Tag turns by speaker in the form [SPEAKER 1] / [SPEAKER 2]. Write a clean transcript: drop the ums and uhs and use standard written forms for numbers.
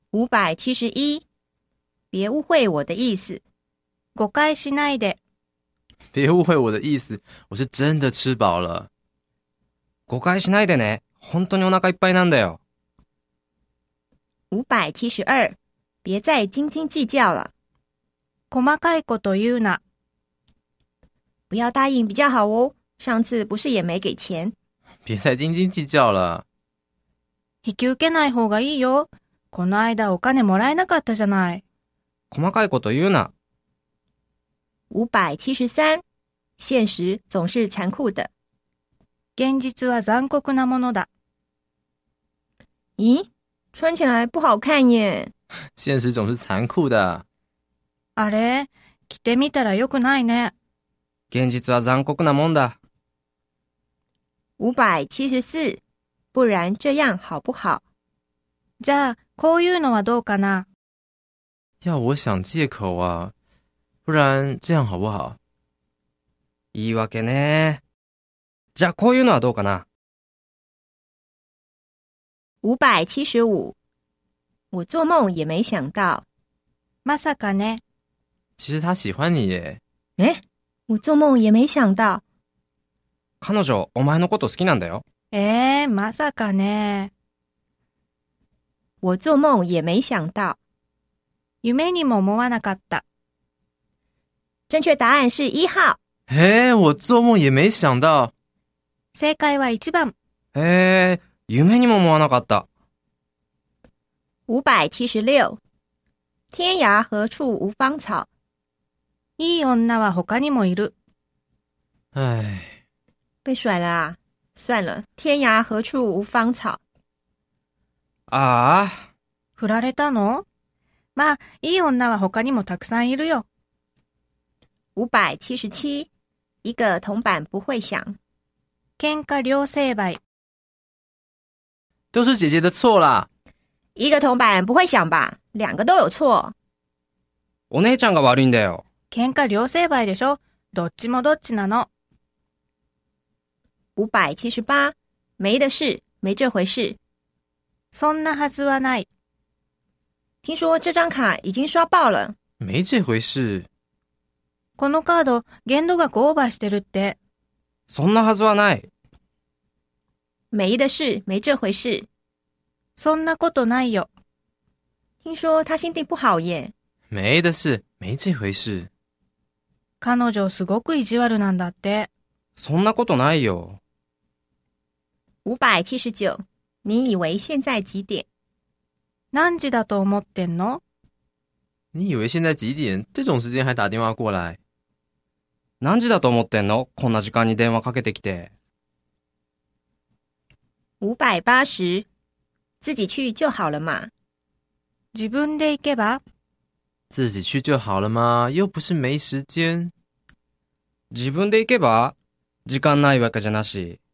[SPEAKER 1] 571，别误会我的意思。
[SPEAKER 2] 誤解しないで。
[SPEAKER 3] 别误会我的意思，我是真的吃饱了。
[SPEAKER 4] 誤解しないでね。本当にお腹いっぱいなんだよ。
[SPEAKER 1] 572，别再斤斤计较了。
[SPEAKER 2] 細かいこと言うな。
[SPEAKER 1] 不要答应比较好哦，上次不是也没给钱。
[SPEAKER 3] 别再斤斤计较了。
[SPEAKER 2] 引き受けない方がいいよ。この間お金もらえなかったじゃない。
[SPEAKER 4] 細かいこと言うな。
[SPEAKER 1] 573，现实总是残酷的。
[SPEAKER 2] 現実は残酷なものだ。
[SPEAKER 1] 咦，穿起来不好看耶。
[SPEAKER 3] 现实总是残酷的。
[SPEAKER 2] あれ、着てみたらよくないね。
[SPEAKER 4] 現実は残酷なもんだ。
[SPEAKER 1] 574，不然这样好不好？
[SPEAKER 2] じゃあ、こういうのはどうかな。
[SPEAKER 3] 要我想借口啊，不然这样好不好？
[SPEAKER 4] 言い訳ね。じゃあこういうのはどうかな。
[SPEAKER 1] 575，我做梦也没想到。
[SPEAKER 2] まさかね。
[SPEAKER 3] 其实他喜欢你耶。
[SPEAKER 1] 诶，我做梦也没想到。
[SPEAKER 4] 彼女、お前のこと好きなんだよ。
[SPEAKER 2] まさかね。
[SPEAKER 1] 我做梦也没想到。
[SPEAKER 2] 夢にも思わなかった。
[SPEAKER 1] 正确答案是1号。
[SPEAKER 3] 我做梦也没想到。
[SPEAKER 2] 正解は1番。
[SPEAKER 4] 夢にも思わなかった。
[SPEAKER 1] 576，天涯何处无芳草。
[SPEAKER 2] いい女は他にもいる。
[SPEAKER 1] 被甩了啊！算了，天涯何处无芳草。
[SPEAKER 4] ああ。
[SPEAKER 2] 振られたの？まあ、いい女は他にもたくさんいるよ。
[SPEAKER 1] 577，一个铜板不会响。
[SPEAKER 2] 喧嘩両成敗。
[SPEAKER 3] 都是姐姐的错啦。
[SPEAKER 1] 一个铜板不会响吧？两个都有错。
[SPEAKER 4] お姉ちゃんが悪いんだよ。
[SPEAKER 2] 喧嘩両成敗でしょ。どっちもどっちなの。
[SPEAKER 1] 578，没的事，没这回事。
[SPEAKER 2] そんなはずはない。
[SPEAKER 1] 听说这张卡已经刷爆了。
[SPEAKER 3] 没这回事。
[SPEAKER 2] このカード、限度額オーバーしてるって。
[SPEAKER 4] そんなはずはない。
[SPEAKER 1] 没的事，没这回事。
[SPEAKER 2] そんなことないよ。
[SPEAKER 1] 听说他心地不好耶。
[SPEAKER 3] 没的事，没这回事。
[SPEAKER 2] 彼女すごく意地悪なんだって。
[SPEAKER 4] そんなことないよ。
[SPEAKER 1] 579，你以为现在几点？
[SPEAKER 2] 何時だと思ってんの？
[SPEAKER 3] 你以为现在几点？这种时间还打电话过来？
[SPEAKER 4] 何時だと思ってんの？こんな時間に電話かけてきて。
[SPEAKER 1] 580，自己去就好了嘛。
[SPEAKER 2] 自分で行けば？
[SPEAKER 3] 自己去就好了吗？又不是没时间。
[SPEAKER 4] 自分で行けば？時間ないわけじゃなし。